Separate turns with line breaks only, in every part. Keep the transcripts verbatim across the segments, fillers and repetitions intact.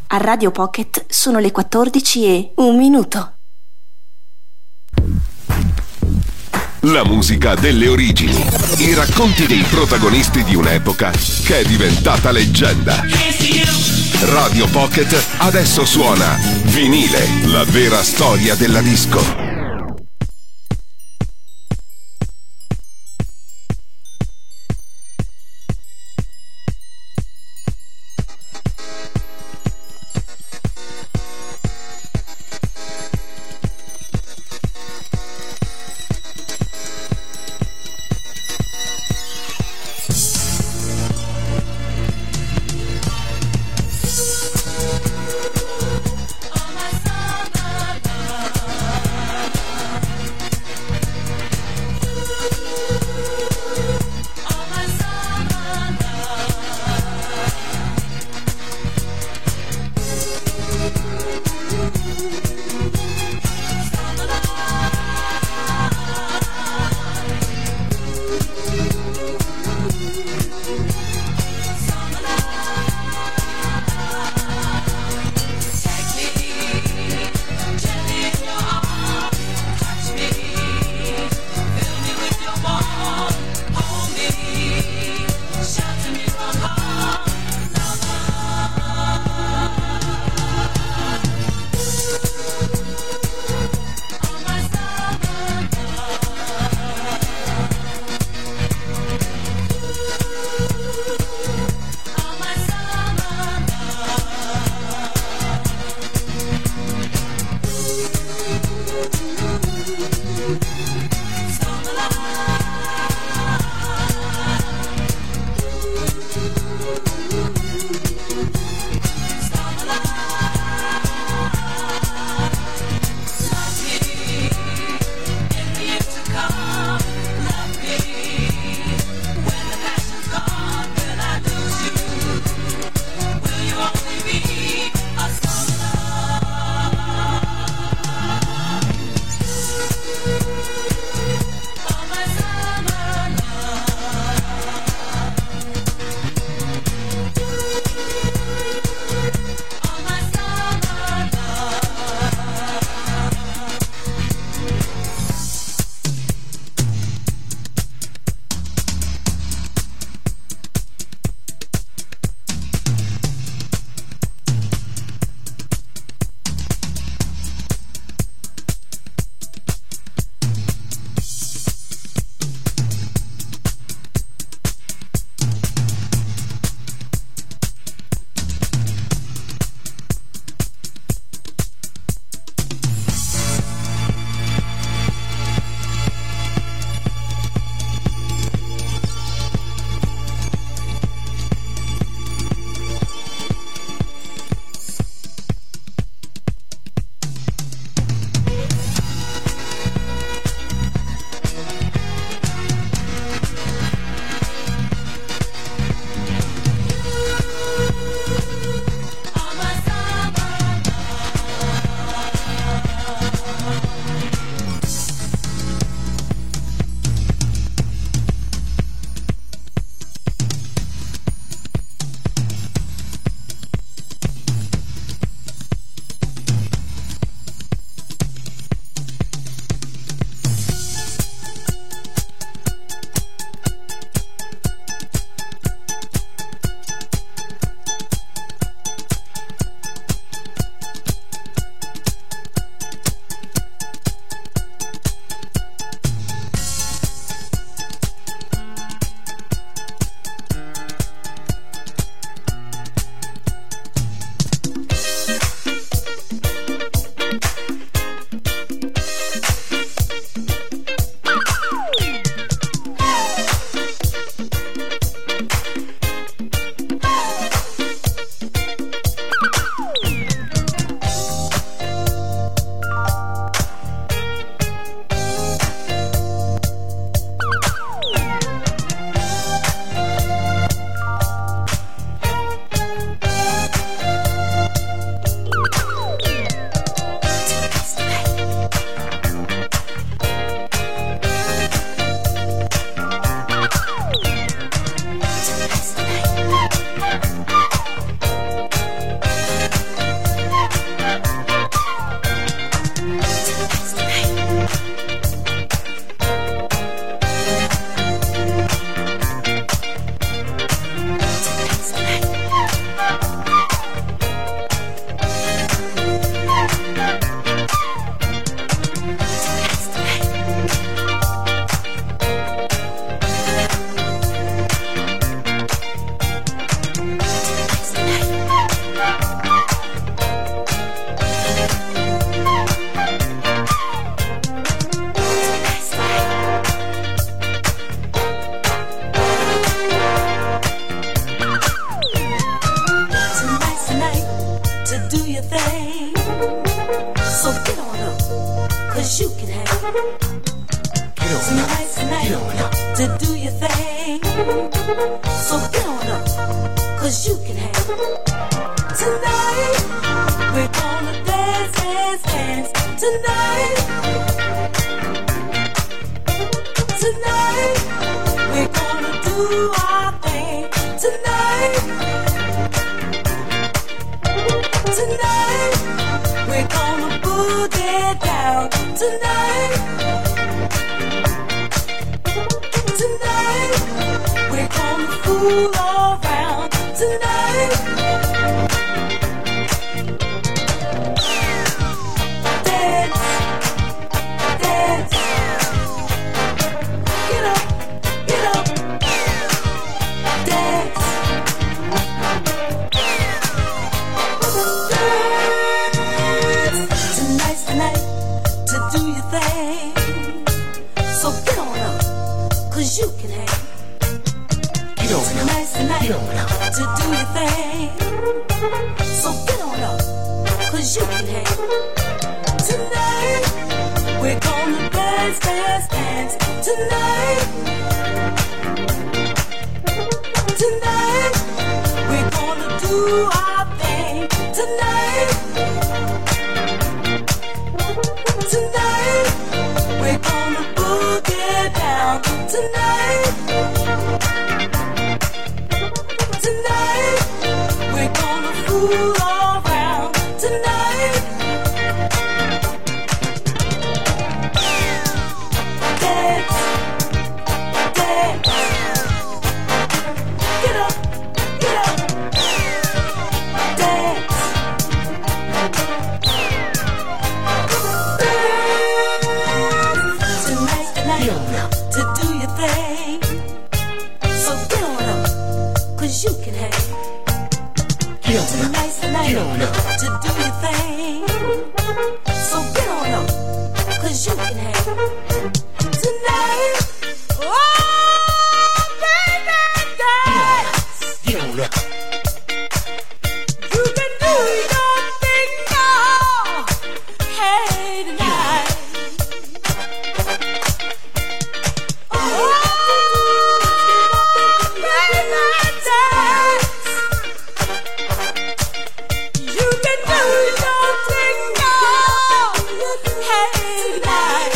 A Radio Pocket sono le quattordici e un minuto.
La musica delle origini, i racconti dei protagonisti di un'epoca che è diventata leggenda. Radio Pocket adesso suona Vinile, la vera storia della disco.
Get on up, get on up. To do your thing. So get on up, cause you can have. Tonight, we're gonna dance, dance, dance. Tonight, tonight, we're gonna do our thing. Tonight, tonight, we're gonna boogie down. Tonight, tonight, we're gonna fool around. Tonight, dance, dance, get up, get up, dance. Tonight's the night to do your thing. So get on up, cause you can hang.
Get on
Tonight's the night
Get on up.
to do your thing. So get on up, cause you can hang. Tonight, we're gonna dance, dance, dance. Tonight, tonight, we're gonna do our thing. Tonight, tonight, we're gonna boogie down. Tonight, tonight, we're gonna fool around. Tonight, dance, dance, get up, get up, dance. Tonight's the night to do your thing. So get on up, cause you can hang.
Get on up.
Tonight's the night
Get on up.
to do your thing. So get on up, cause you can hang. Tonight, oh baby, dance.
Get on up.
You can do your thing now. Hey tonight. Oh baby, dance. You can do your thing now. Hey tonight.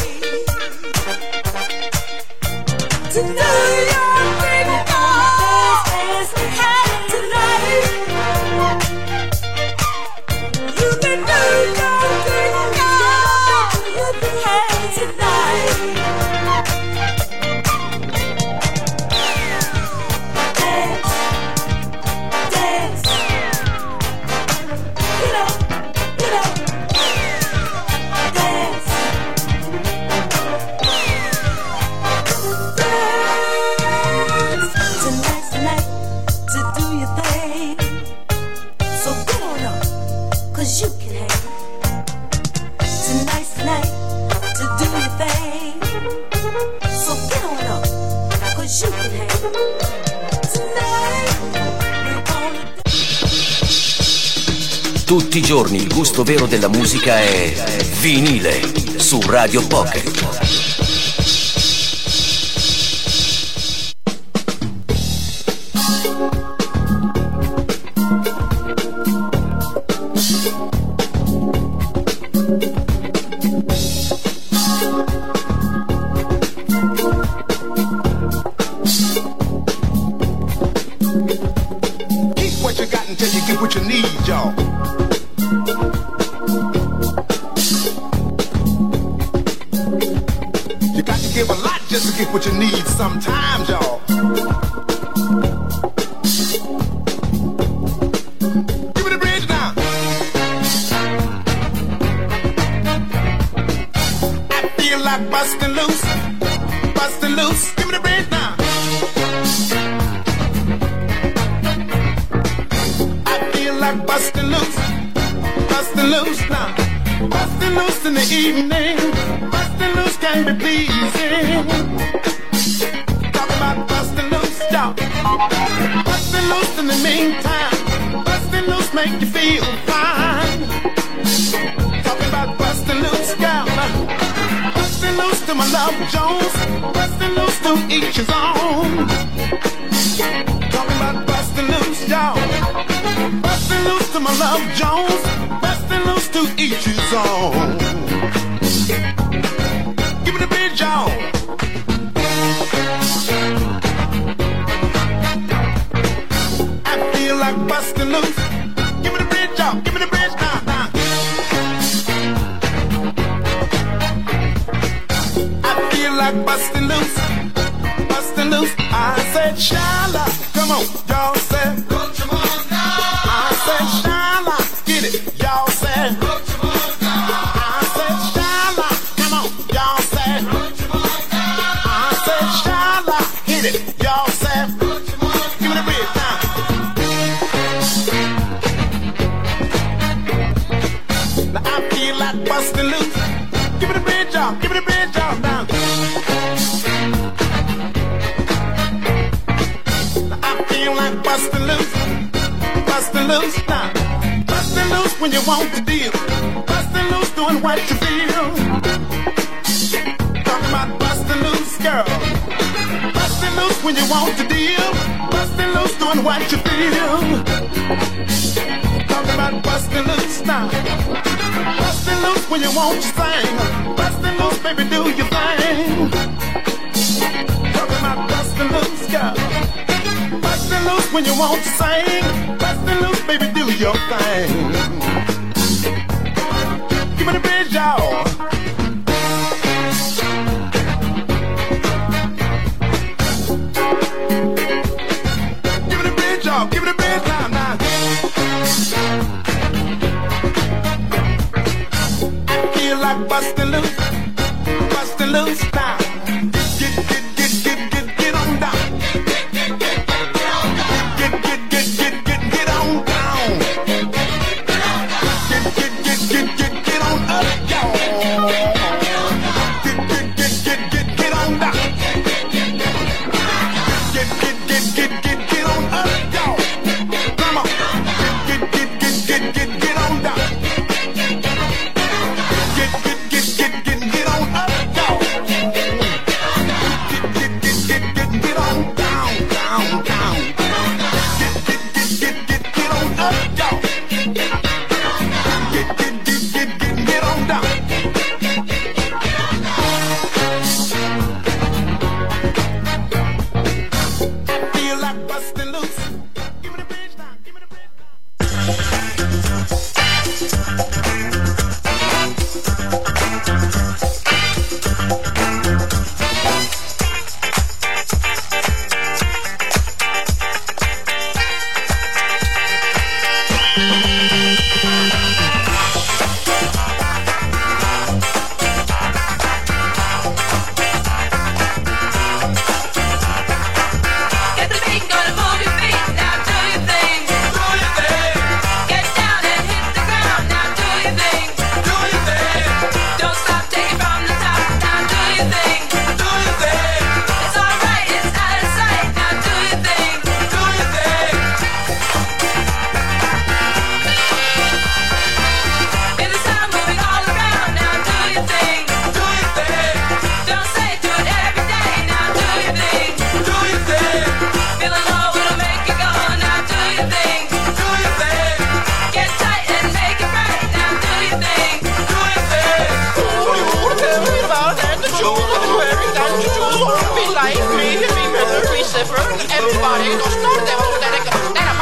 To do your thing now. Hey tonight. You can do your thing now. Hey tonight. Dance, dance. Get up, get up. Dance. Tonight's the night to do your thing. So get on up, cause you can hang. Tonight's the night to do your thing. So get on up, cause you can hang. Tonight, we're gonna
Tutti i giorni il gusto vero della musica è vinile su Radio Pocket.
Keep what you got until you get what you need, y'all. You got to give a lot just to get what you need sometimes, y'all. Give me the bridge now. I feel like busting loose, busting loose. Give me the bridge now. I feel like busting loose, busting loose now. Busting loose in the evening, busting loose can be pleasing. Talk about busting loose, y'all. Busting loose in the meantime, busting loose make you feel fine. Talking about busting loose, y'all. Busting loose to my love Jones, bustin' loose to each his own. Talking about bustin' loose, y'all. Bustin' loose to my love Jones, bustin' loose to each his own. Give me the bridge, y'all. I feel like bustin' loose. Give me the bridge, y'all. Give me the bridge, now, now. I feel like bustin' loose, bustin' loose. I said, Shala, come on, y'all said. I said, Shala, get it, y'all said. I said, Shala, come on, y'all said. I said, Shala, hit it, y'all said. Give me the bridge now. Now I feel like bustin' loose. Give me the bridge, y'all. Give me the bridge, y'all. Now. Now I feel like bustin' loose, bustin' loose now. Bustin' loose when you want to deal. Bustin' loose doing what you feel. Talking about bustin' loose, girl. Bustin' loose when you want to deal. Bustin' loose doing what you feel. Talking about bustin' loose now. Bustin' loose when you want to sing. Bustin' loose, baby, do your thing. Talking about bustin' loose, girl. Bustin' loose when you want to sing. Bustin' loose, baby, do your thing. Give me the bridge, y'all. Give me the bridge, y'all. Give me the bridge now, now. I feel like bustin' loose, bustin' loose now. Get, get, get, get, get, get on down. Get, get, get, get, get, get on down. Get, get, get, get, get, get on up, y'all. Get, get, get, get, get, get on down. Get, get, get, get, get, get on up, y'all. Come on. Get, get, get, get, get, get on down. Get, get, get, get, get, get on up, y'all. Get, get, get, get, get, get on down, down, down. Get, get, get, get, get, get on up, y'all. Get, get, get, get, get, get on down. Feel like bustin' loose. Give me the bridge now. Give me the bridge now.
Get the beat, gonna move your feet, now do your thing. Do your thing. Get down and hit the ground, now do your thing. Do your thing. Don't stop, take it from the top, now do your thing. Do your thing. It's alright, it's out of sight, now do your thing. Do your thing. Feel the sound moving all around, now do your thing. Do your thing. Don't say do it every day, now do your thing. Do your thing. Feeling low, it'll make you go, now do your thing. Do your thing. Get tight and make it right, now do your thing. Do your thing.
What do you want to tell me about that? The jewels of the wearing that the jewels want to be like me, me, Miller, me, Zipper, everybody. Don't start that whole that I got. That I'm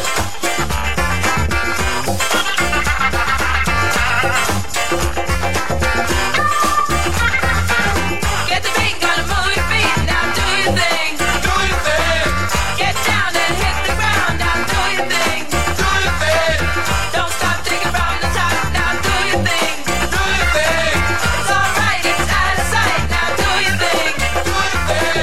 Get the beat, gonna move your feet, now do your thing. Do your thing. Get down and hit the ground, now do your thing. Do your thing. Don't stop, take it from the top, now do your thing. Do your thing. It's alright, it's out of sight, now do your thing. Do your thing.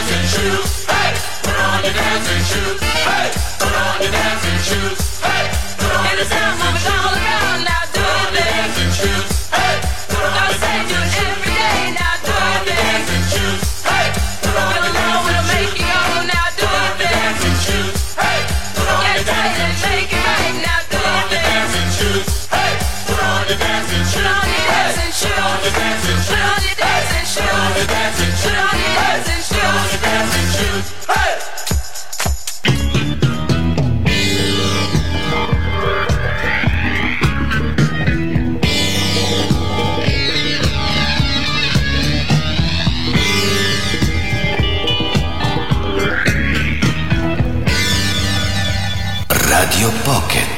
dancing shoes. Hey, put on your dancing shoes. Hey, put on your dancing shoes. Hey, put on your dancing shoes. All around now, do your dancing shoes. Hey, put on your dancing shoes. Every day now, do your dancing shoes. Hey, put on your dancing shoes. Now, do your dancing shoes. Hey, put on your dancing shoes. Make it right now, do your dancing shoes. Hey, put on your dancing shoes. Put on your dancing shoes. Put on your dancing shoes. Put on your dancing shoes. Put on your dancing shoes. Put on your dancing shoes. Put on your dancing shoes. Hey.
Radio Pocket.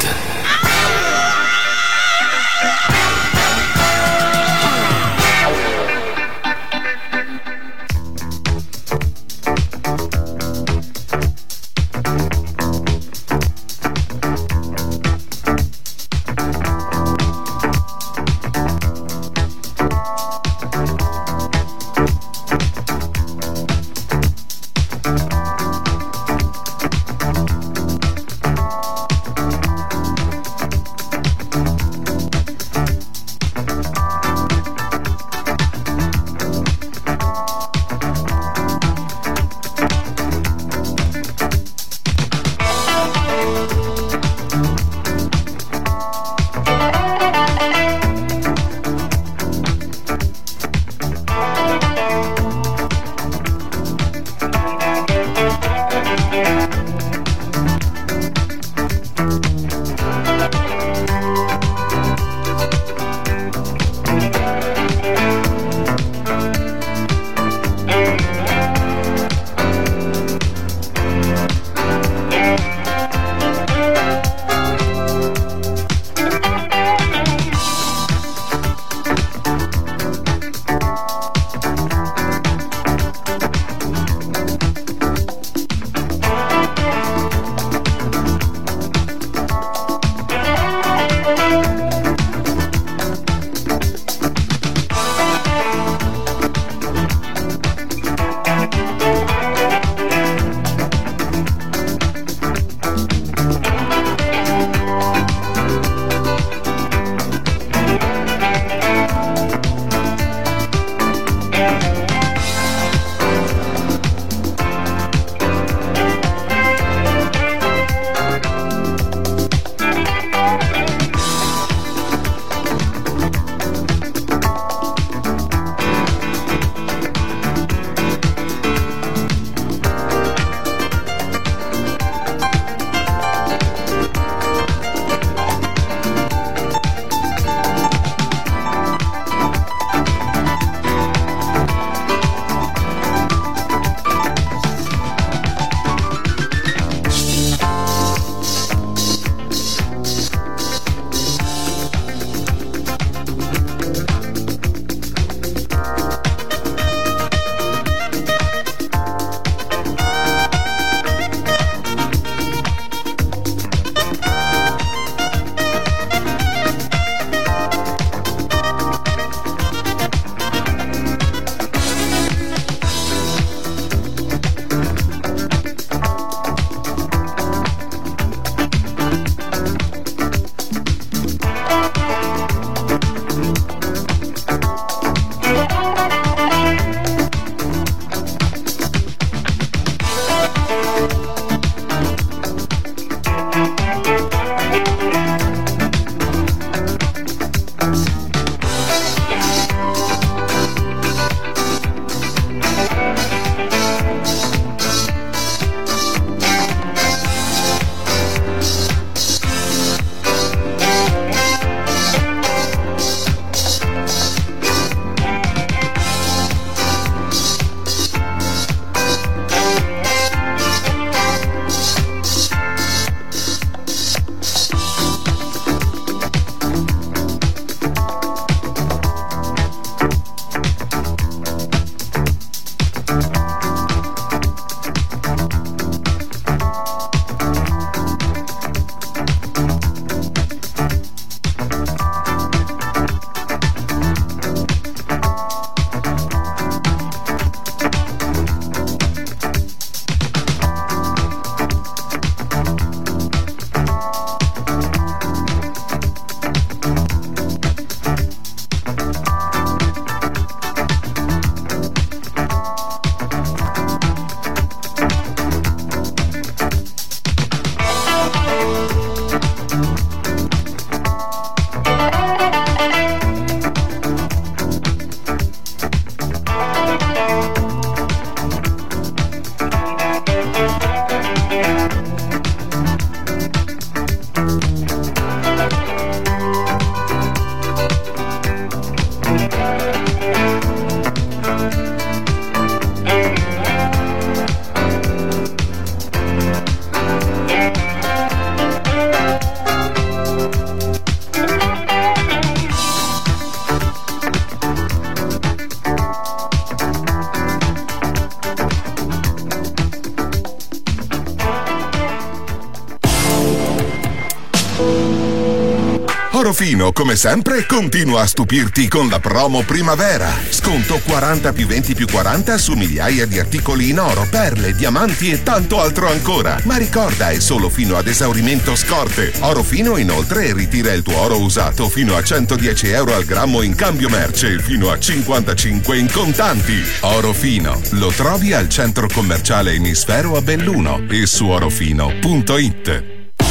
Orofino, come sempre, continua a stupirti con la promo primavera. Sconto quaranta più venti più quaranta su migliaia di articoli in oro, perle, diamanti e tanto altro ancora. Ma ricorda, è solo fino ad esaurimento scorte. Orofino inoltre ritira il tuo oro usato fino a centodieci euro al grammo in cambio merce e fino a cinquantacinque in contanti. Orofino lo trovi al centro commerciale Emisfero a Belluno e su orofino punto it.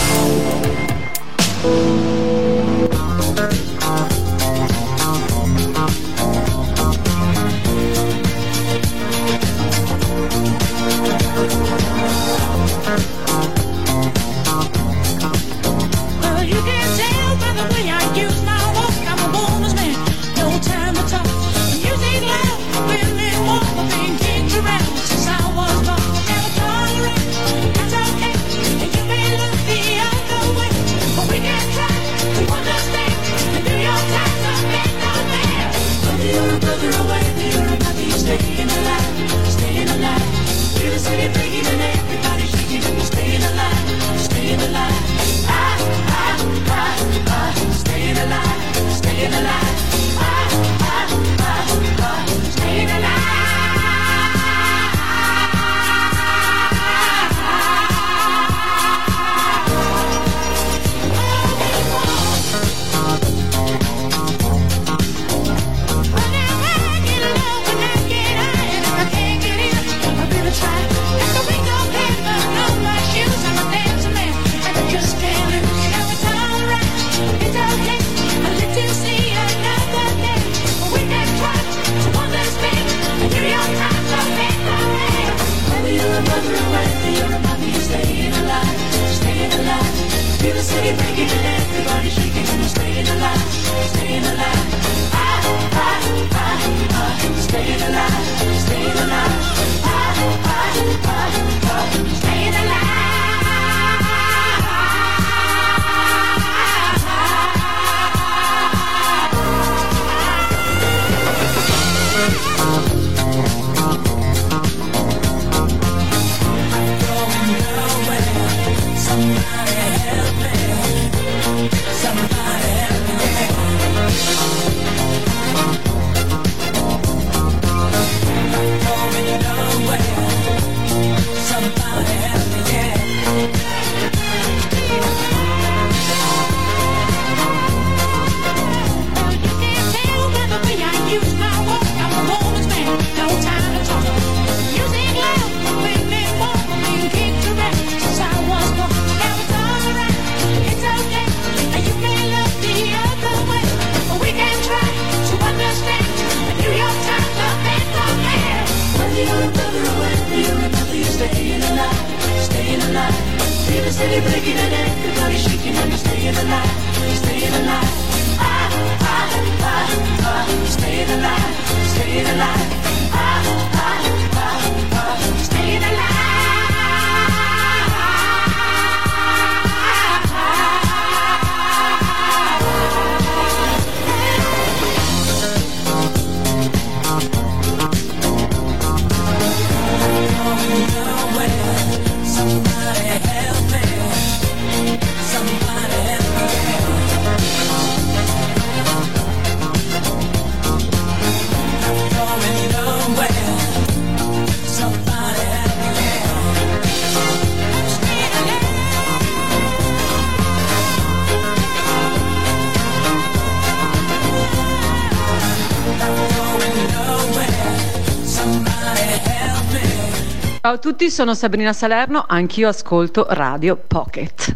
Ciao a tutti, sono Sabrina Salerno, anch'io ascolto Radio Pocket.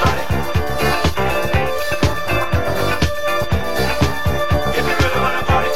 Party,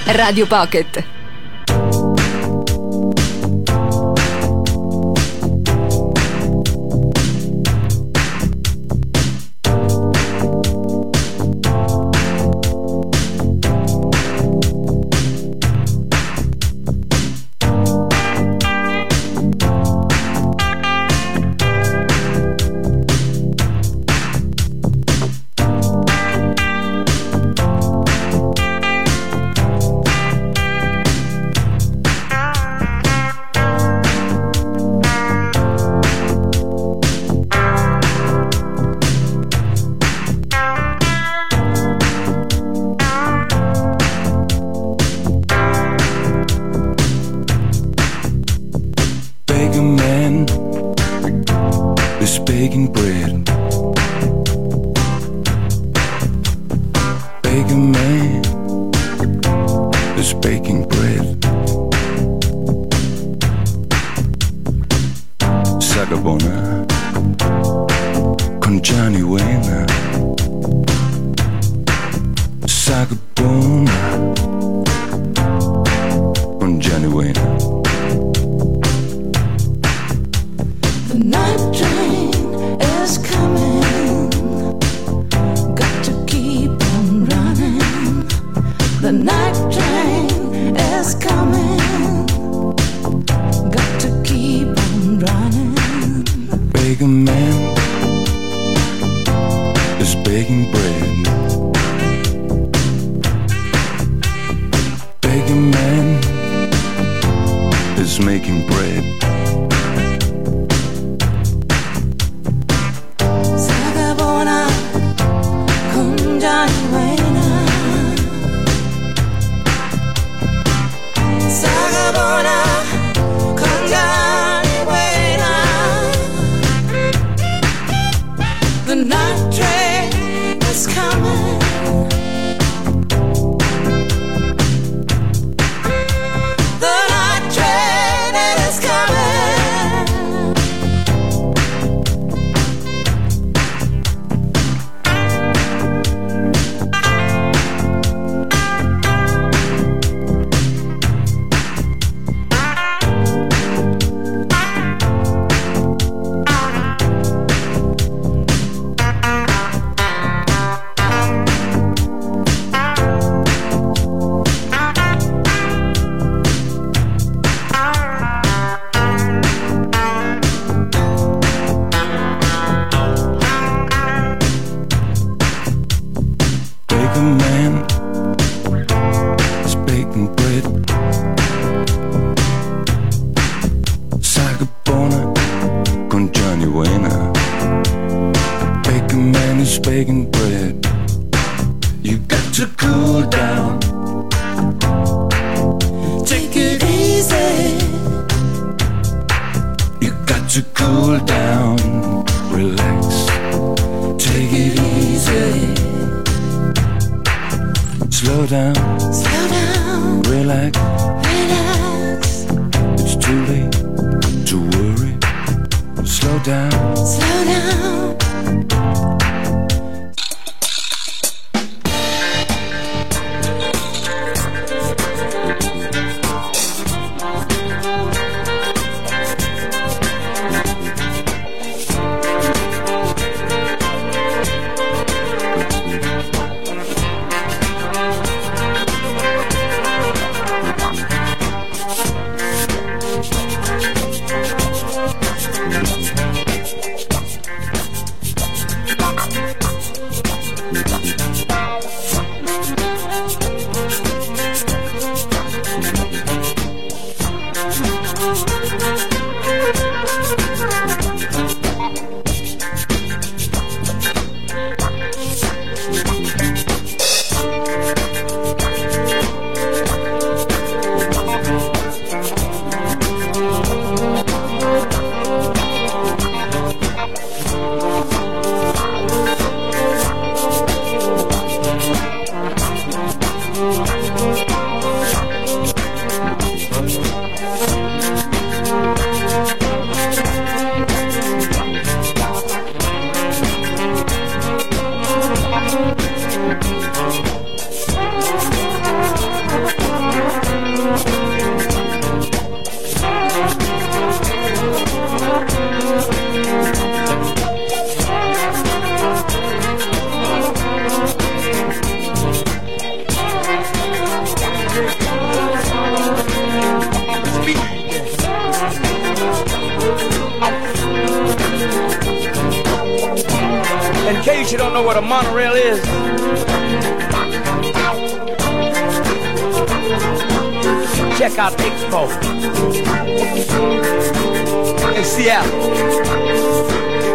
Radio Pocket. In case you don't know what a monorail is, check out Expo in Seattle.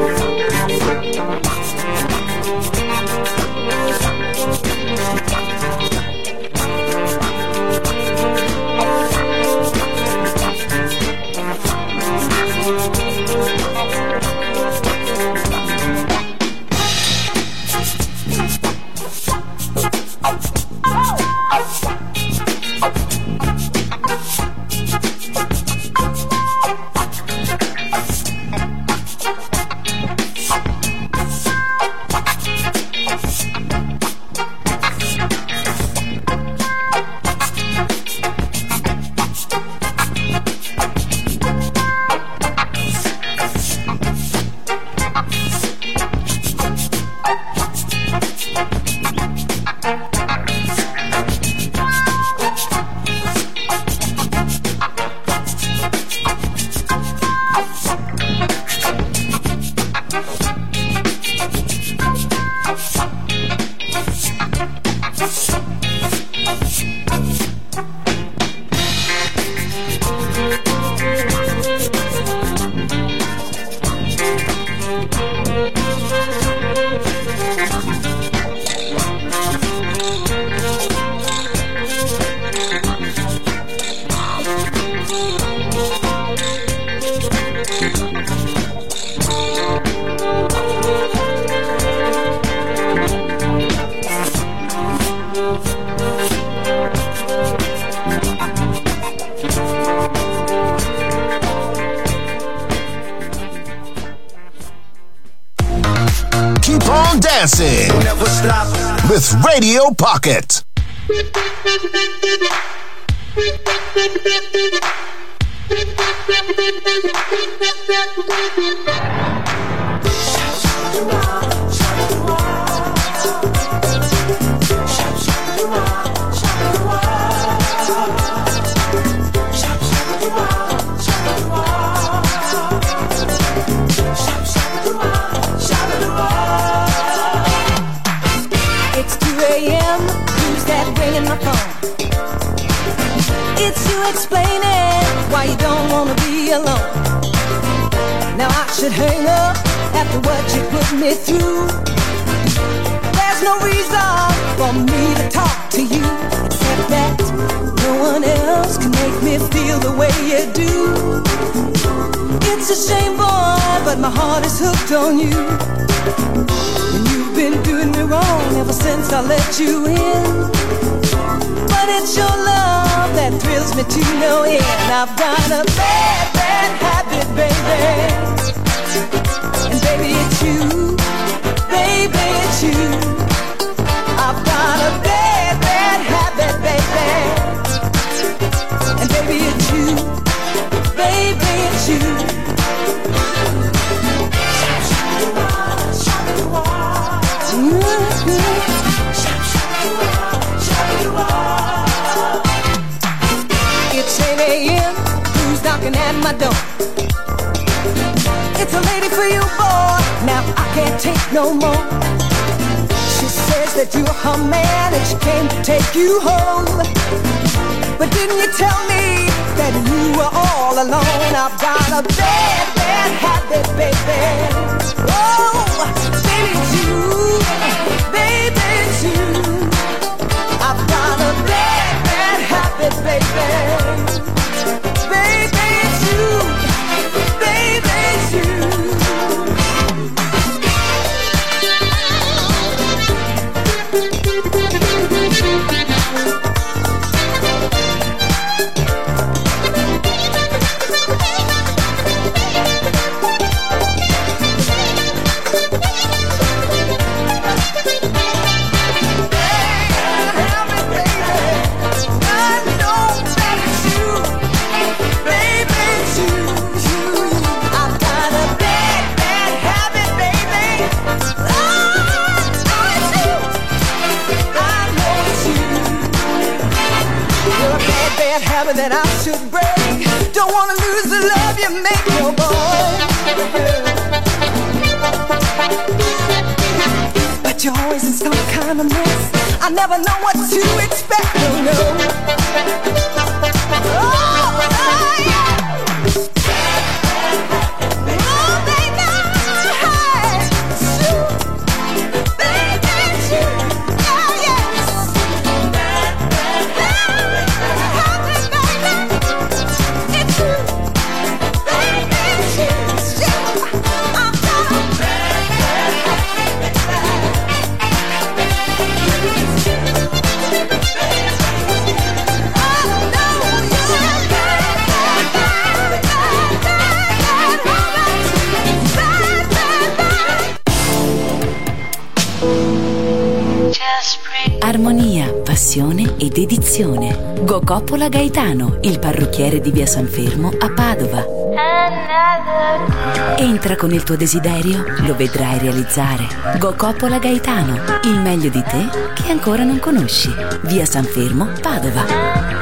Dancing with Radio Pocket.
Explaining why you don't wanna be alone. Now I should hang up after what you put me through. There's no reason for me to talk to you, except that no one else can make me feel the way you do. It's a shame, boy, but my heart is hooked on you. And you've been doing me wrong ever since I let you in. But it's your love that thrills me to no end. I've got a bad, bad habit, baby. And baby, it's you. Baby, it's you. I've got a bad, bad habit, baby. And baby, it's you. Baby, it's you. It's eight a.m. Who's knocking at my door? It's a lady for you, boy. Now I can't take no more. She says that you're her man and she came to take you home. But didn't you tell me that you were all alone? I've got a bad, bad habit, baby. Oh, baby, it's you. Baby, it's you. I've got a bad, bad habit, baby. Baby, it's you. Baby, it's you. Habit that I should break. Don't wanna lose the love you make your boy. kind of mess. I never know what to expect, no, no. Oh, oh yeah. Oh, baby, hey, shoot, baby, shoot, oh yes. Happy, baby, it's you, baby, shoot, shoot, I'm gonna.
Armonia, passione e dedizione. Go Coppola Gaetano, il parrucchiere di via San Fermo a Padova. Entra con il tuo desiderio, lo vedrai realizzare. Go Coppola Gaetano, il meglio di te che ancora non conosci. Via San Fermo, Padova.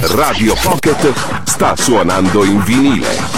Radio Pocket sta suonando in vinile.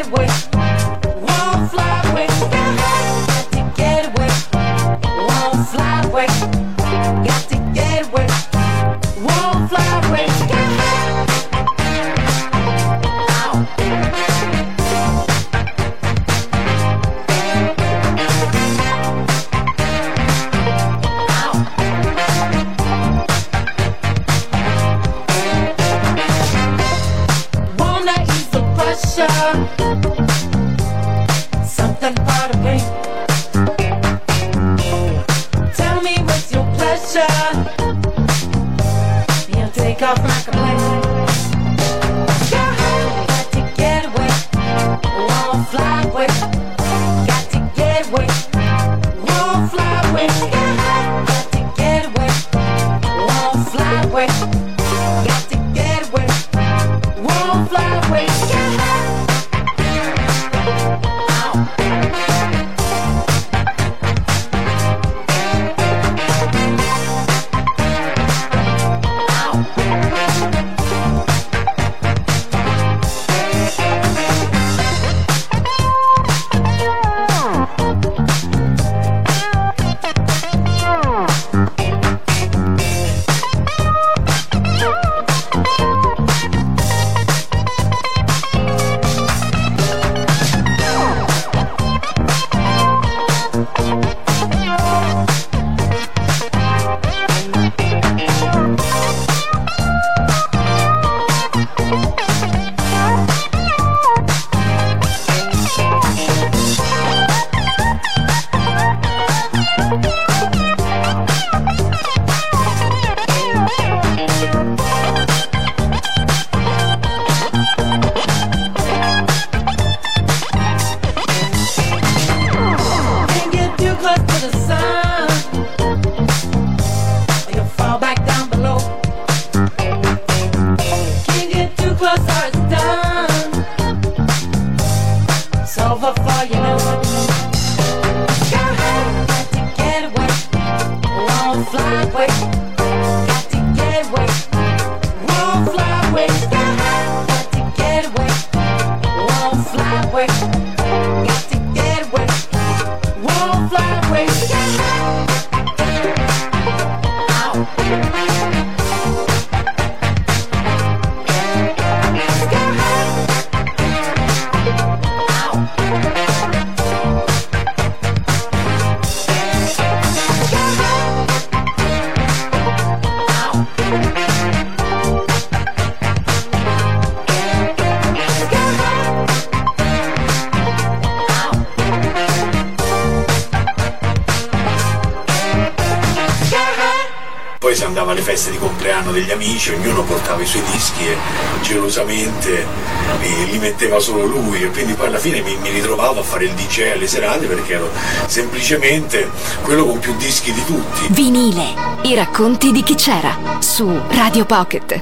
Poi si andava alle feste di compleanno degli amici, ognuno portava i suoi dischi e gelosamente li, li metteva solo lui, e quindi poi alla fine mi, mi ritrovavo a fare il D J alle serate perché ero semplicemente quello con più dischi di tutti.
Vinile, i racconti di chi c'era, su Radio Pocket.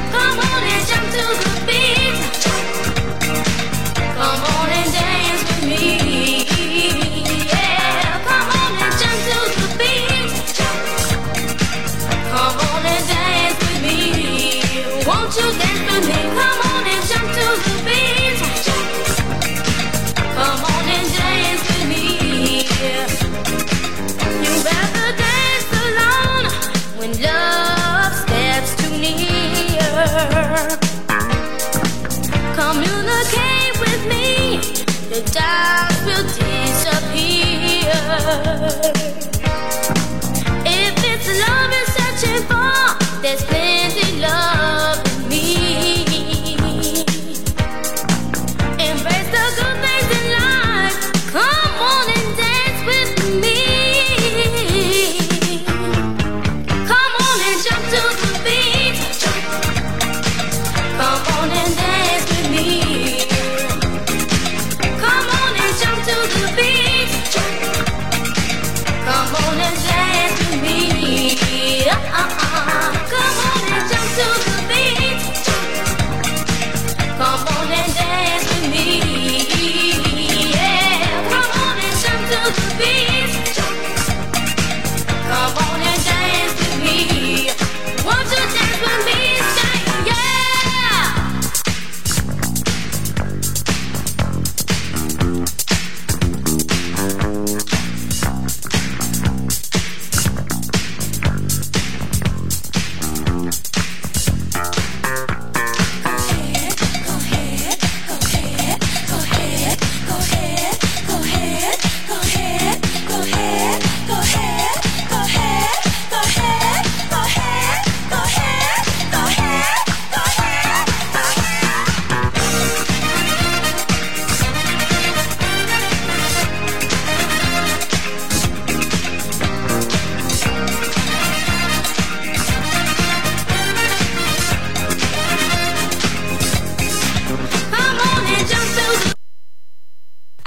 Come on and dance with me.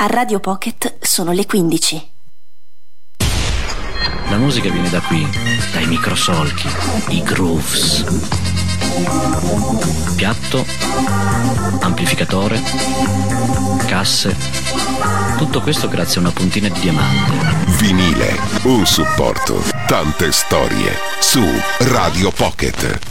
Radio Pocket sono le quindici.
La musica viene da qui, dai microsolchi, i grooves. Piatto, amplificatore, casse, tutto questo grazie a una puntina di diamante.
Vinile, un supporto, tante storie su Radio Pocket.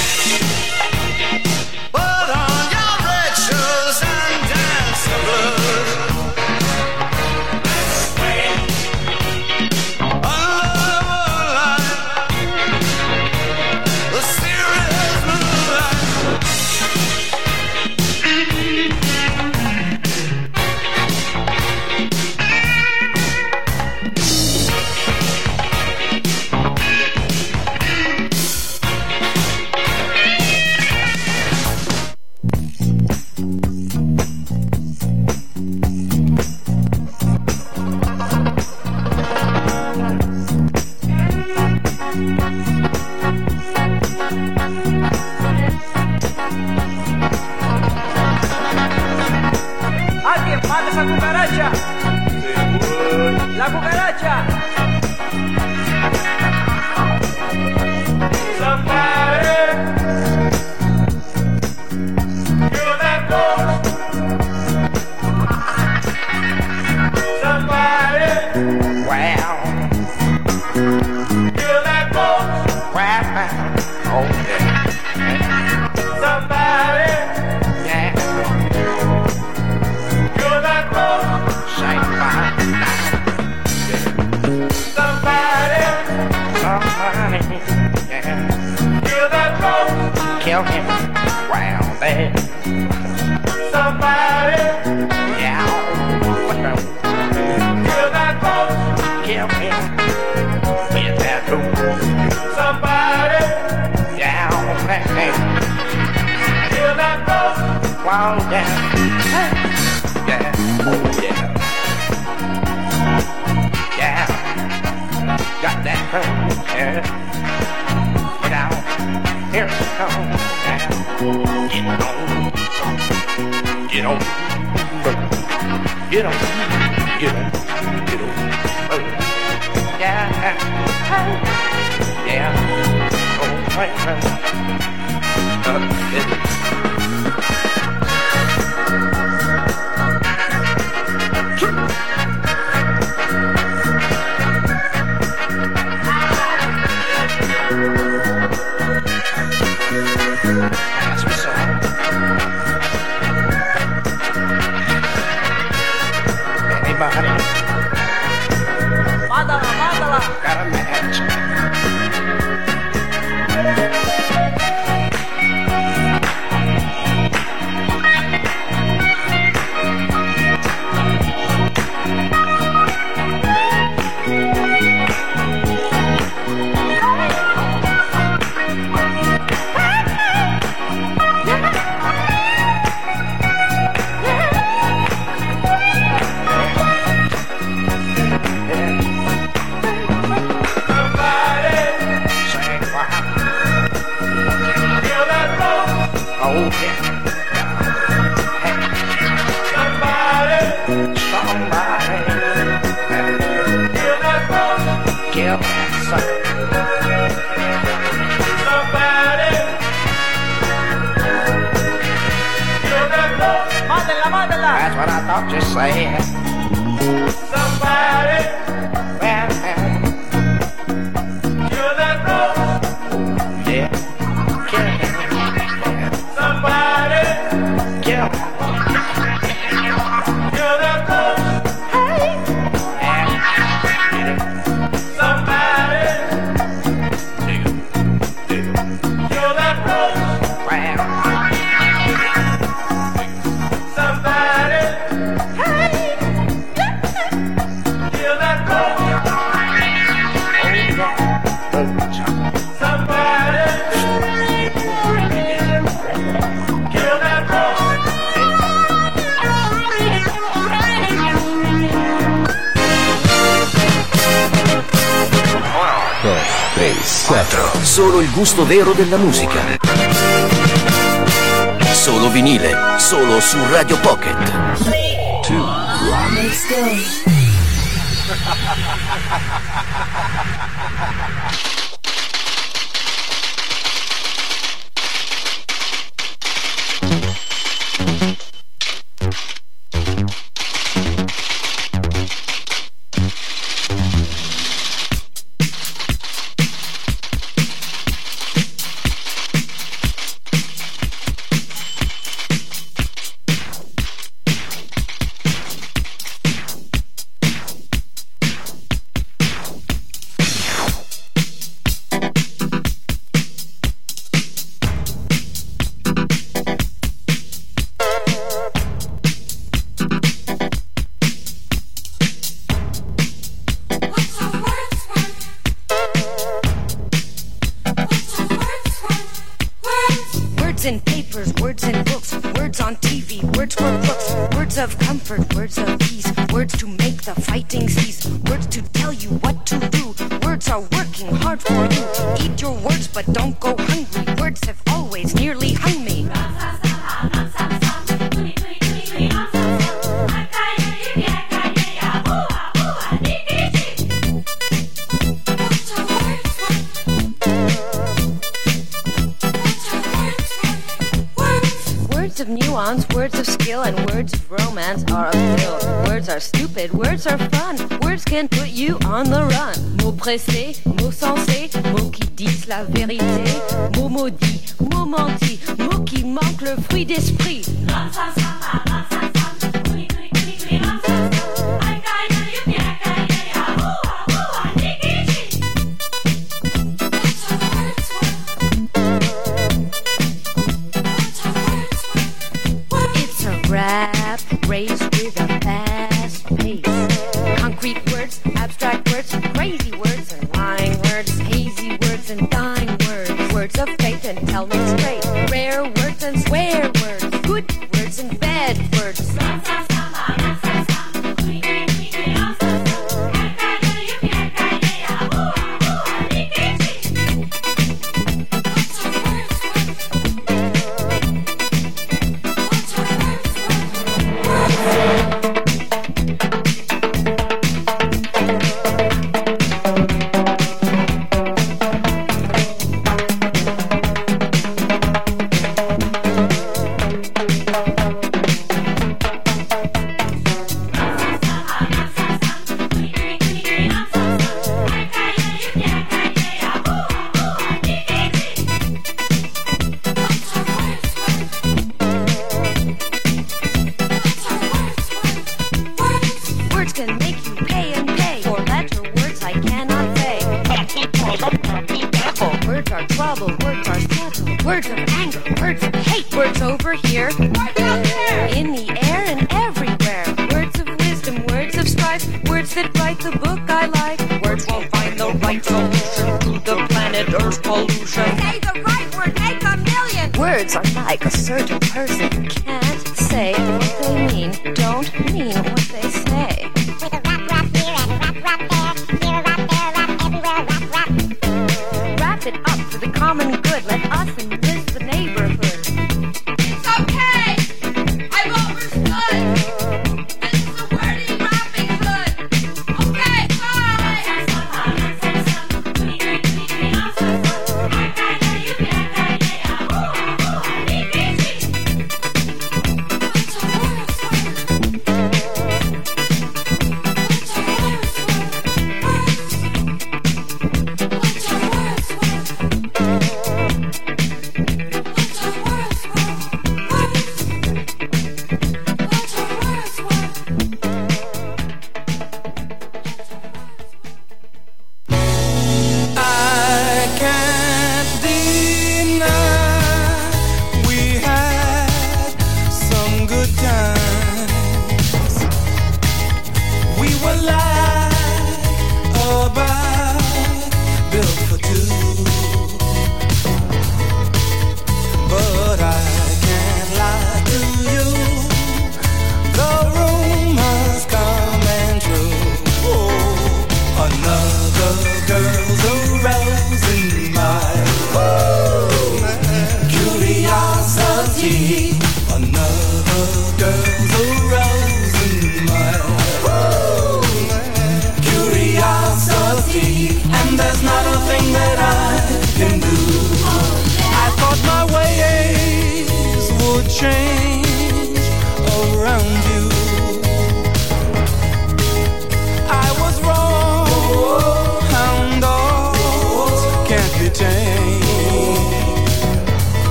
Put on your red shoes and dance the blues.
kill him while there. Somebody, yeah, kill that boy, kill him with that room. Somebody, yeah, kill that boy while there. Yeah, oh yeah, yeah, got that hurt, yeah. Get out, here it comes, yeah. Get on, get on, get on, get on, get on, oh, yeah, yeah, oh, right, right, uh, yeah. That's what's up. Anybody? Mandala, mandala. Got a match. That's what I thought you said. Somebody, well, kill that rose. Yeah, kill him. Yeah. Somebody, kill him. Kill that rose. Hey. Yeah. Somebody, kill that rose. Well.
quattro. Solo il gusto vero della musica. Solo vinile, solo su Radio Pocket. tre, due, let's go.
Words of peace, words to make the fighting cease, words to tell you what to do. Words are working hard for you to eat your words, but don't go hungry. Words have always nearly hung me. Words of nuance, words of skill, and words of romance are a pill. Words are stupid, words are fun. Words can put you on the run. Mots pressés, mots sensés, mots qui disent la vérité. Mots maudits, mots mentis, mots qui manquent le fruit d'esprit. of fate and tell me straight. Rare words and swear words, good words and bad words.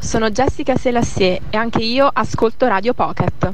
sono Jessica Selassie e anche io ascolto Radio Pocket.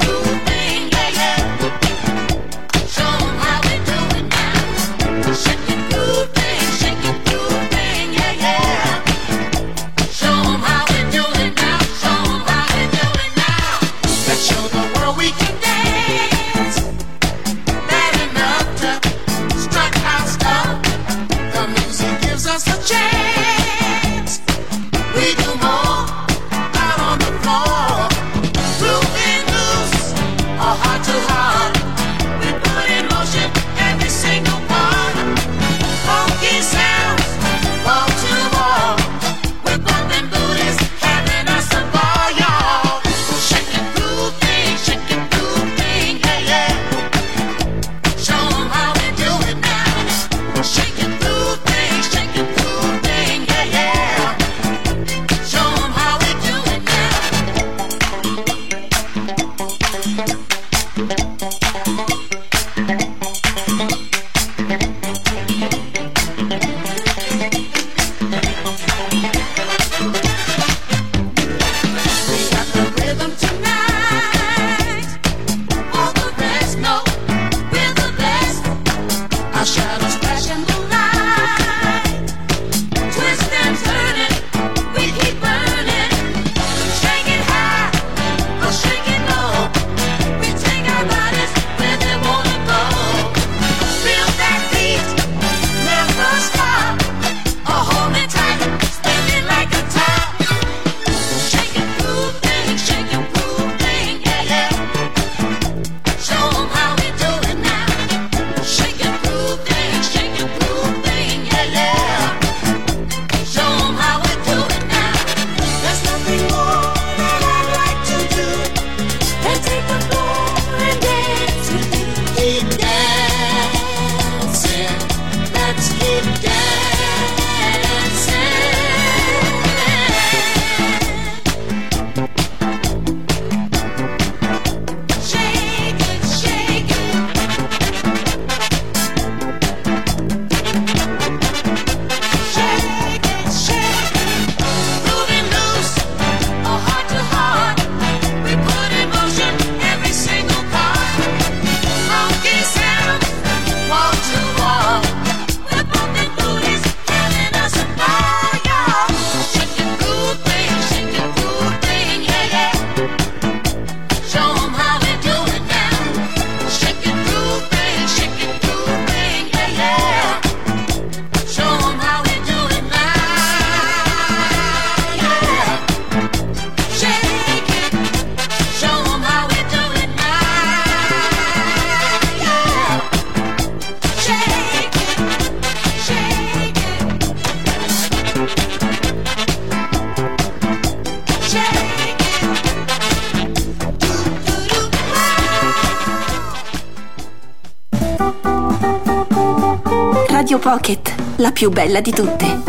Shake
Pocket, la più bella di tutte.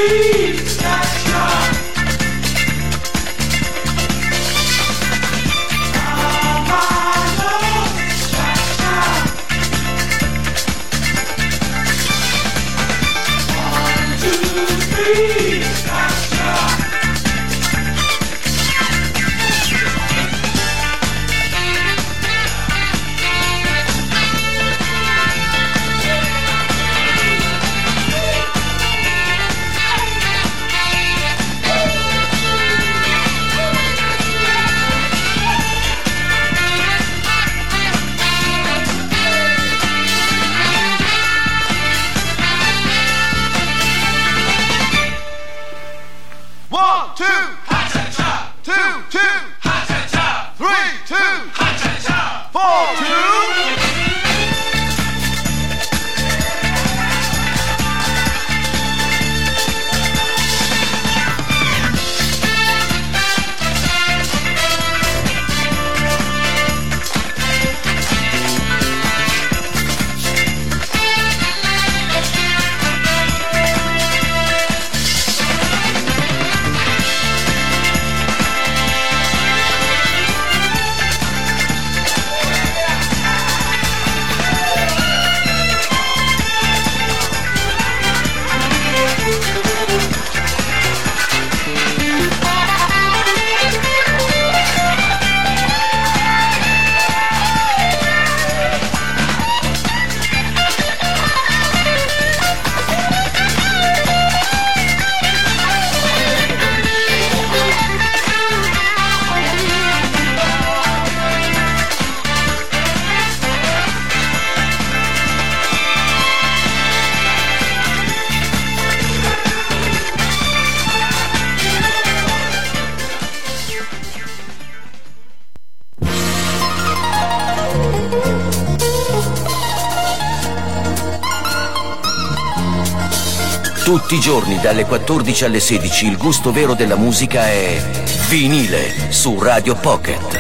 Tutti i giorni dalle quattordici alle sedici il gusto vero della musica è vinile su Radio Pocket.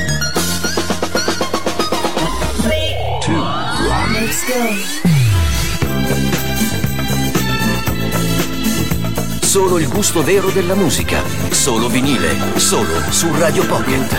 Solo il gusto vero della musica, solo vinile, solo su Radio Pocket.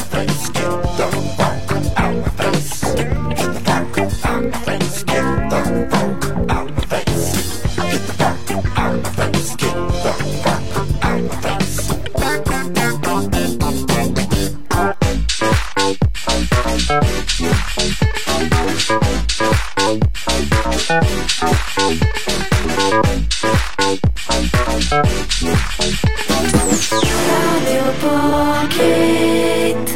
Get the
Radio Pocket.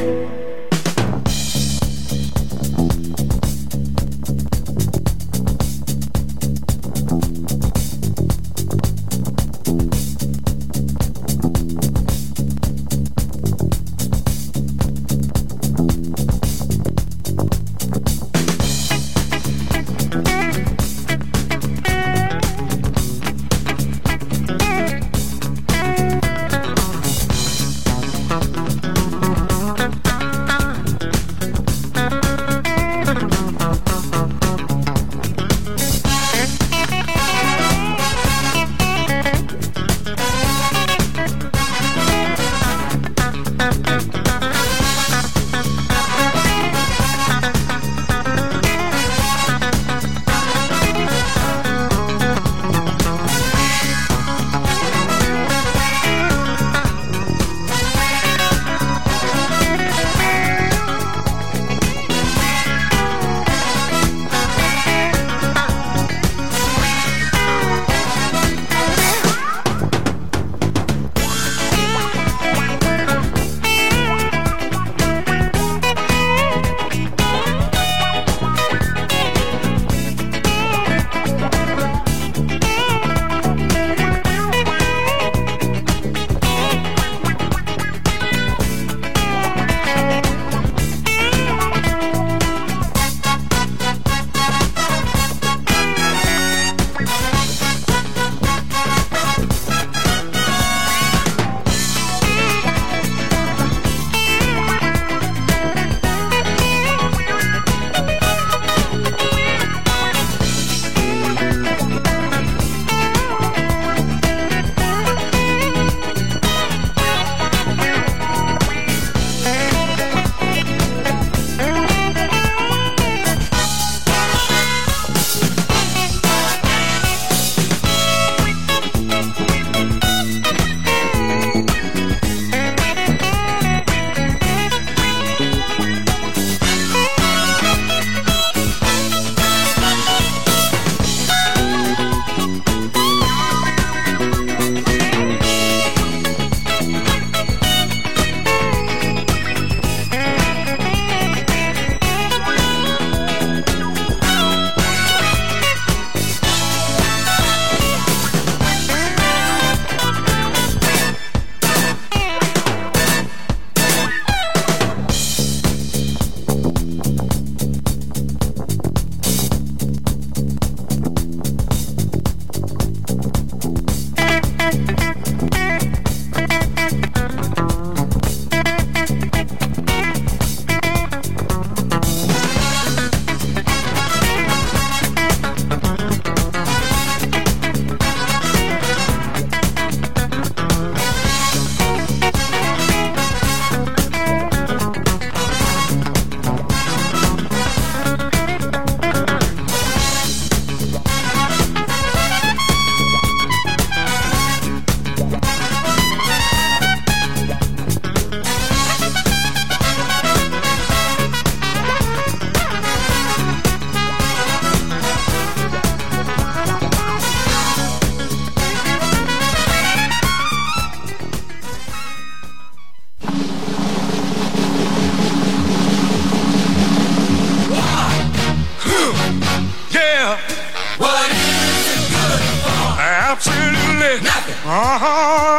Uh-huh.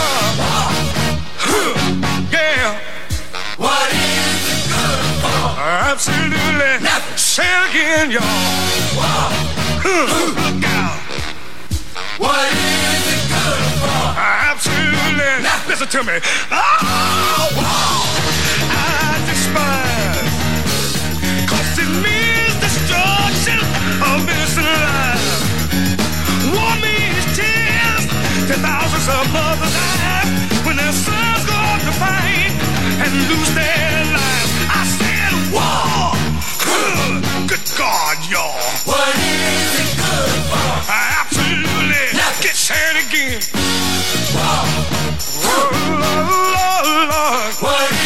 Yeah.
What is it good for?
Absolutely.
Nothing.
Say it again, y'all. Look out.
What is it good for?
Absolutely.
Nothing.
Listen to me. Oh, wow. I despise. Cause it means destruction of innocent lives. War means tears to thousands of mothers' eyes when their sons go off to fight and lose their lives. I said war. Good God, y'all.
What is it good for?
Absolutely.
Nothing.
Get sad again.
War.
Oh, Lord, Lord.
What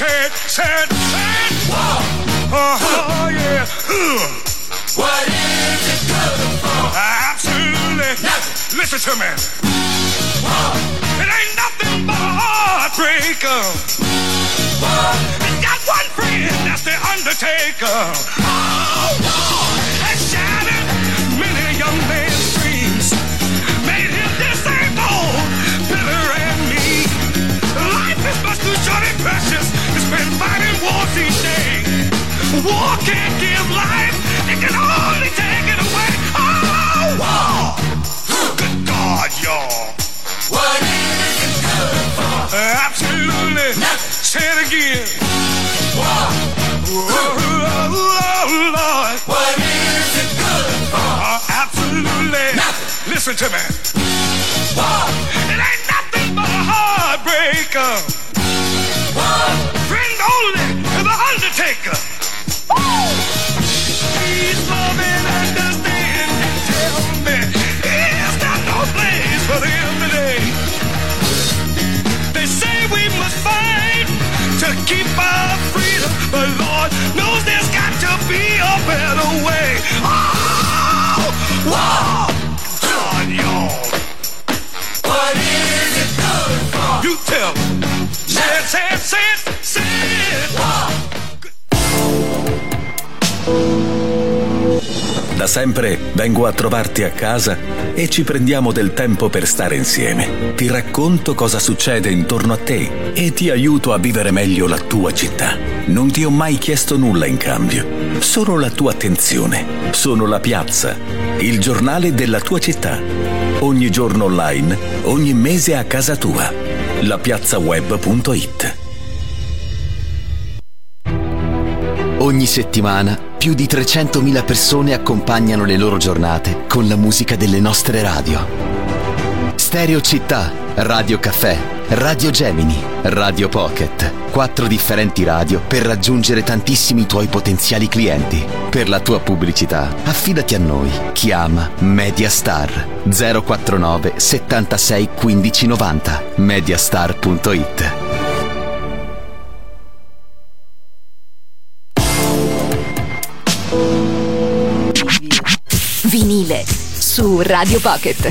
Say it, say it, say it. Whoa. Oh, oh yeah. Uh. What is it good for? Absolutely nothing. Listen to me. Whoa. It ain't nothing but a heartbreaker. Whoa. It's got one friend, that's the Undertaker. Oh, whoa. It shattered many young men's dreams. Made him disabled, bitter and mean. Life is much too short and precious. It's been fighting wars each day. War can't give life, it can only take it away. Oh, war! Good God, y'all. What is it good for? Uh, absolutely. Nothing. Say it again. War. Oh, oh, oh, Lord. What is it good for? Uh, absolutely. Nothing. Listen to me. War. It ain't nothing but a heartbreaker. War. Friend only to the Undertaker. Please love and understand and tell me it's not no place for them today. They say we must fight to keep our freedom, but Lord knows there's got to be a better way. Oh, wow, God, y'all. What is it good for? You tell me. Say it, say it, say it, say it. Wow.
Da sempre vengo a trovarti a casa e ci prendiamo del tempo per stare insieme. Ti racconto cosa succede intorno a te e ti aiuto a vivere meglio la tua città. Non ti ho mai chiesto nulla in cambio, solo la tua attenzione. Sono La Piazza, il giornale della tua città. Ogni giorno online, ogni mese a casa tua. la piazza web punto it.
Ogni settimana più di trecentomila persone accompagnano le loro giornate con la musica delle nostre radio. Stereo Città, Radio Caffè, Radio Gemini, Radio Pocket. Quattro differenti radio per raggiungere tantissimi tuoi potenziali clienti. Per la tua pubblicità, affidati a noi. Chiama Mediastar zero quattro nove settantasei quindici novanta. mediastar punto it.
Vinile su Radio Pocket.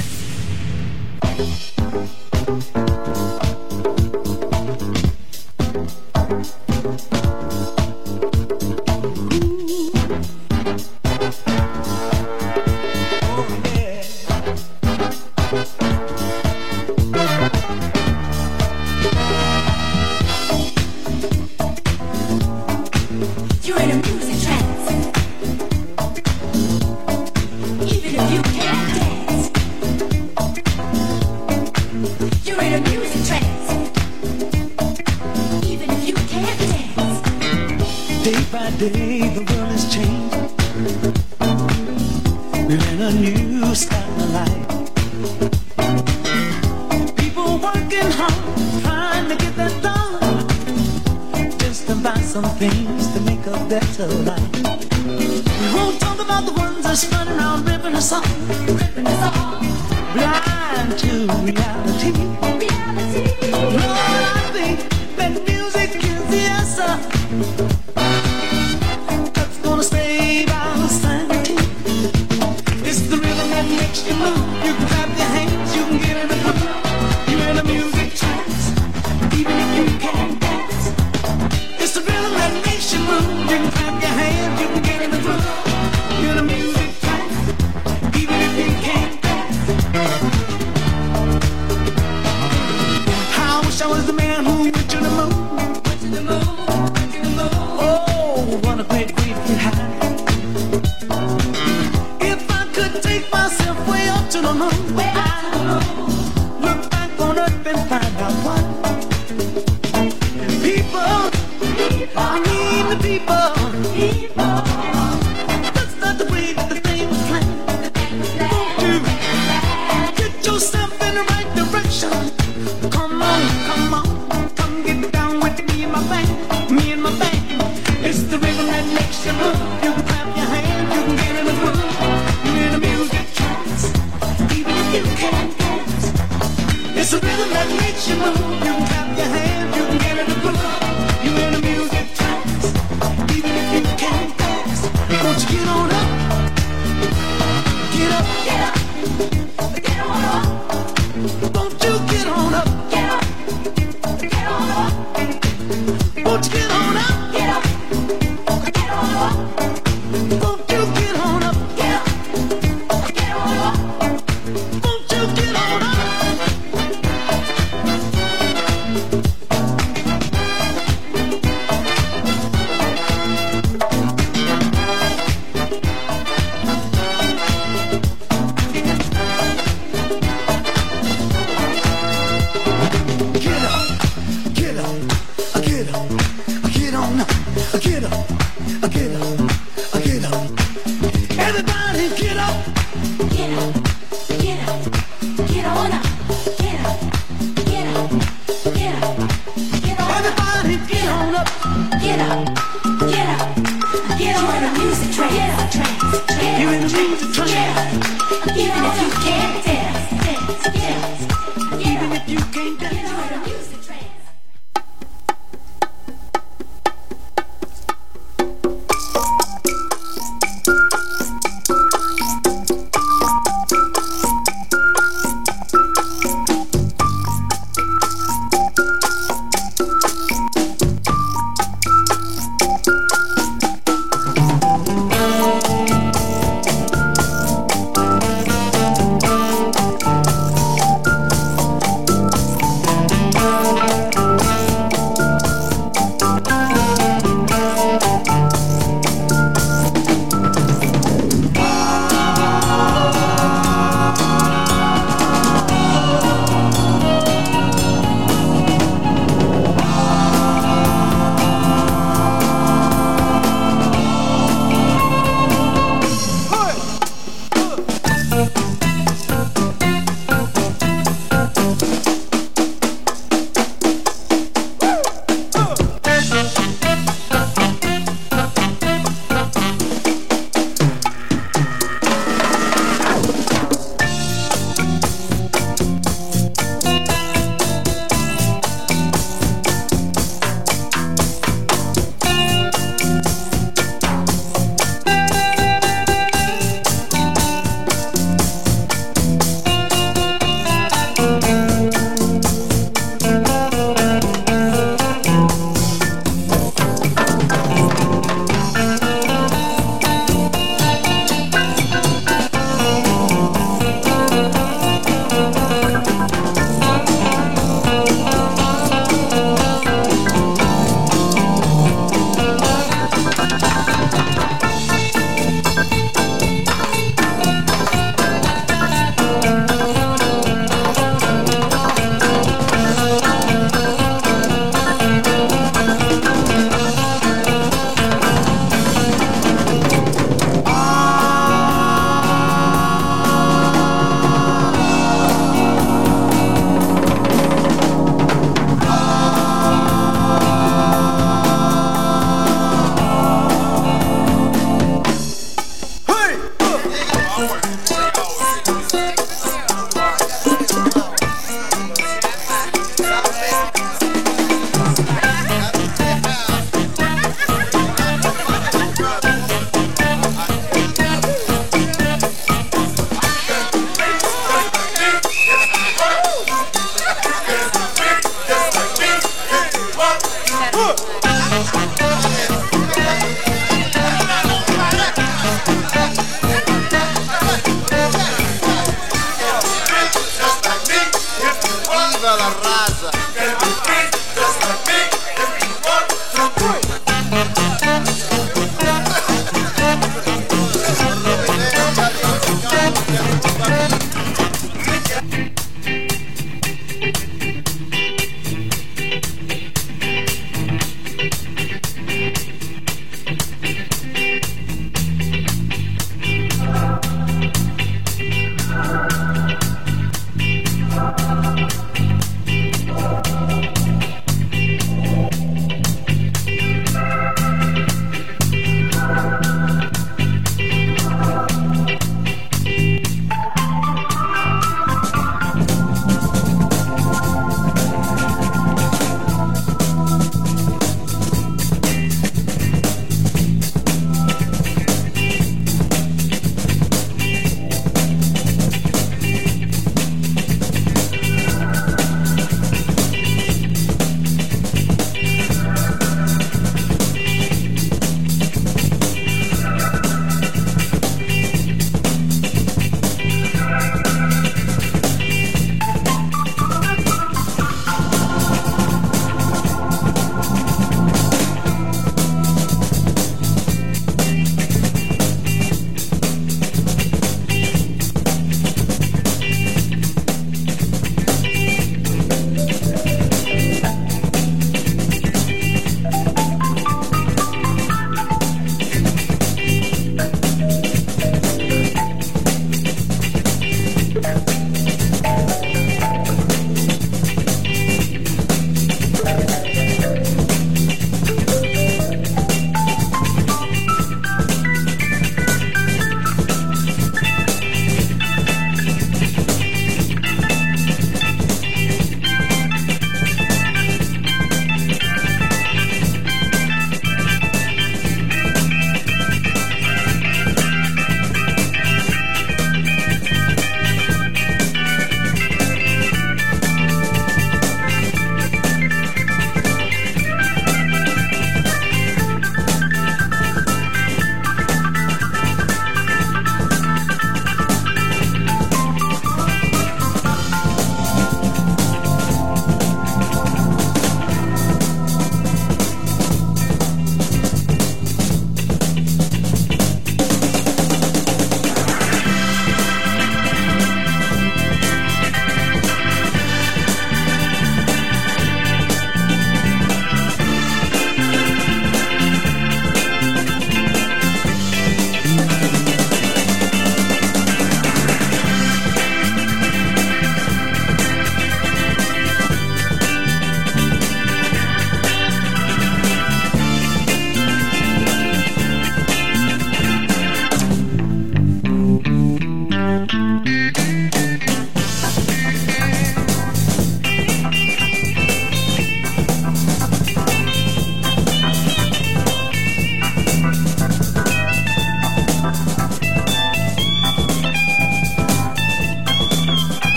Even if
Get up, get up, get on the music train. Get up, train. You in the music train. Get up, even if you can't dance, dance, dance. Even if you can't dance, get on the music train.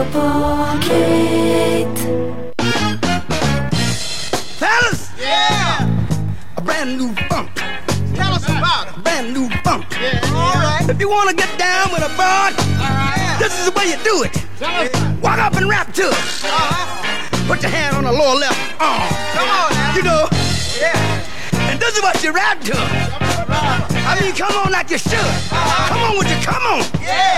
Pocket.
Fellas, yeah, a brand new funk. Tell us about it. Brand new funk. Yeah, all right. If you want to get down with a bud, uh-huh. This is the way you do it. Yeah. Walk up and rap to it. Uh-huh. Put your hand on the lower left arm. Come on now. You know. Yeah. And this is what you rap to. I mean, come on like you should. Uh-huh. Come on with you, come on. Yeah.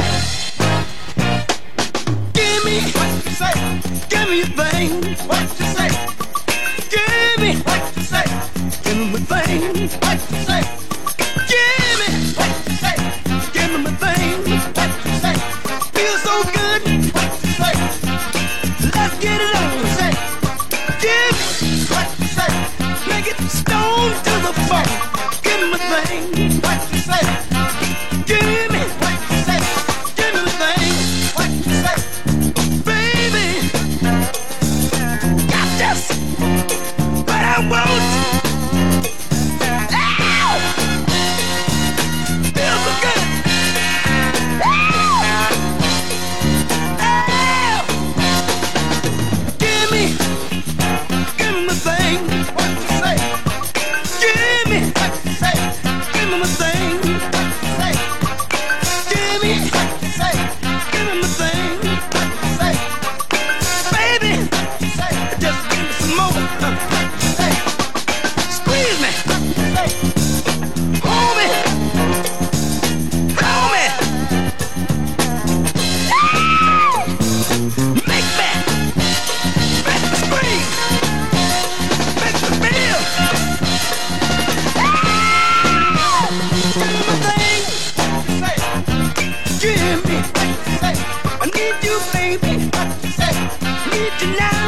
Give me what you say. Give me your thing. What you say. Give me what you say. Give me my thing. What you say. Give me what you say. Give me my thing. What you say. Feel so good. What you say. Let's get it on. Say. Give me what you say. Make it stone to the bone. Give me my thing. What you say. Give me what you say. Give me my thing. What you say. Baby, got this. But I won't. Ow! Feels so good. Ow! Ow! Give me, give me my thing. What you say? Give me what you say. Give me my thing. What you say? Give me what you say. Give me my thing. What you say? Baby, just give me some more. Squeeze me. Hold me. Hold me. Ow! Make me. Make me scream. Make me feel. Ow! Give me my thing. Give me. I need you, baby. Need you now.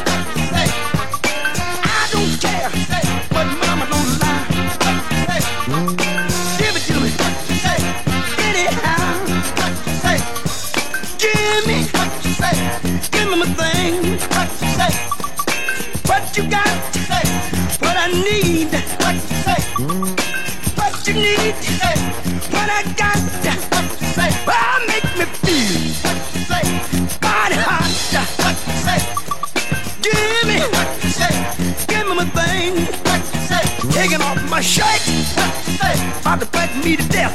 I don't care what mama don't lie. Give it to me. Anyhow. Give me. Give me my thing. What you got? What I need. What you need. What I got. Oh, make me feel. Body hot. Give me. Give me my thing. Taking off my shirt. About to fight me to death.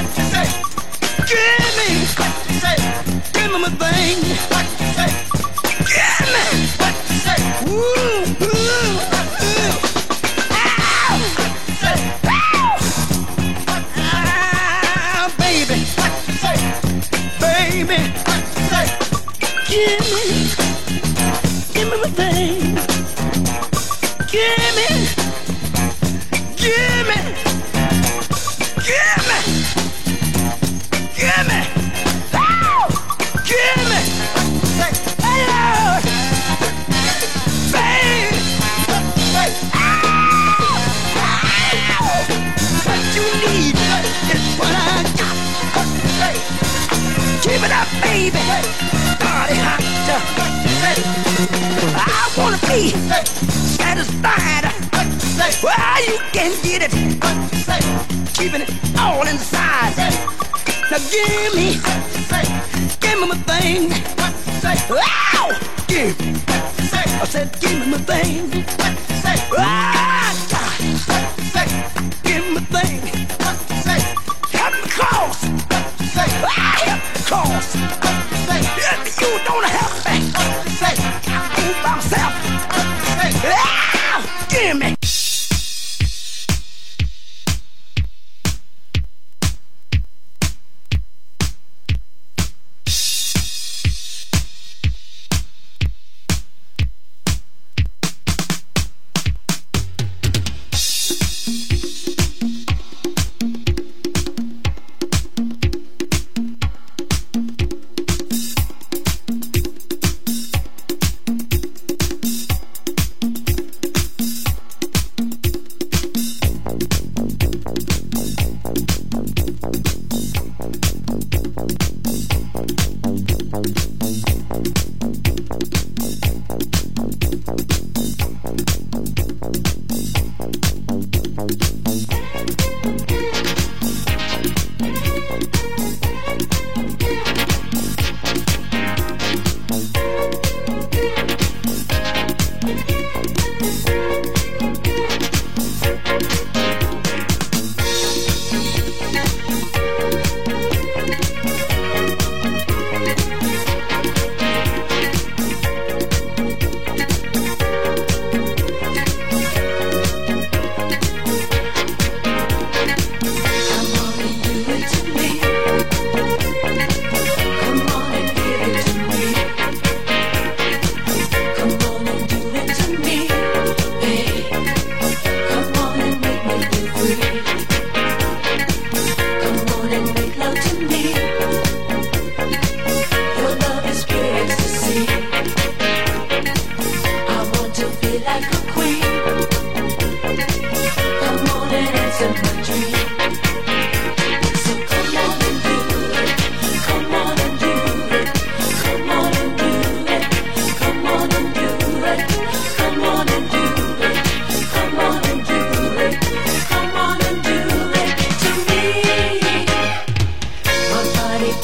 Give me. Give me my thing. Give me. Ooh, ooh, ooh. Ow. Ow. Ah, baby. Baby. Give me. Give me my thing. Give me. Give me. Give me. Give me. Ow! Give me. Hey, Lord. Babe. Ow! Ow! What you need is what I got. Keep it up, baby. Body hot. I wanna be satisfied. Well, you can get it. Keeping it all inside. Now give me, give me my thing. Ow! Give me. I said, give me my thing. Ah, God. Give me my thing. Help me cross. Ah, help me cross. If you don't help me, I'll go by myself. Ah, give me.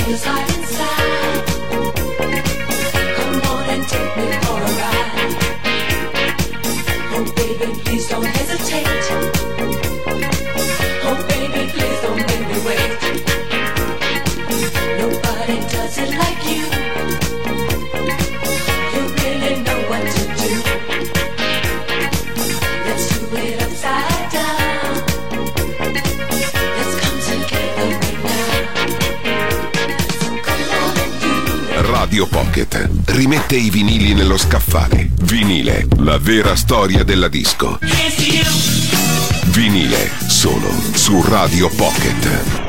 feels right inside. Come on and take me for a ride. Oh baby, please don't hesitate. Oh baby, please don't make me wait. Nobody does it like you. You really know what to do. Let's do it upside down. Let's come together right now. So come on and do it.
Radio Pocket rimette i vinili nello scaffale. Vinile, la vera storia della disco. Vinile, solo su Radio Pocket.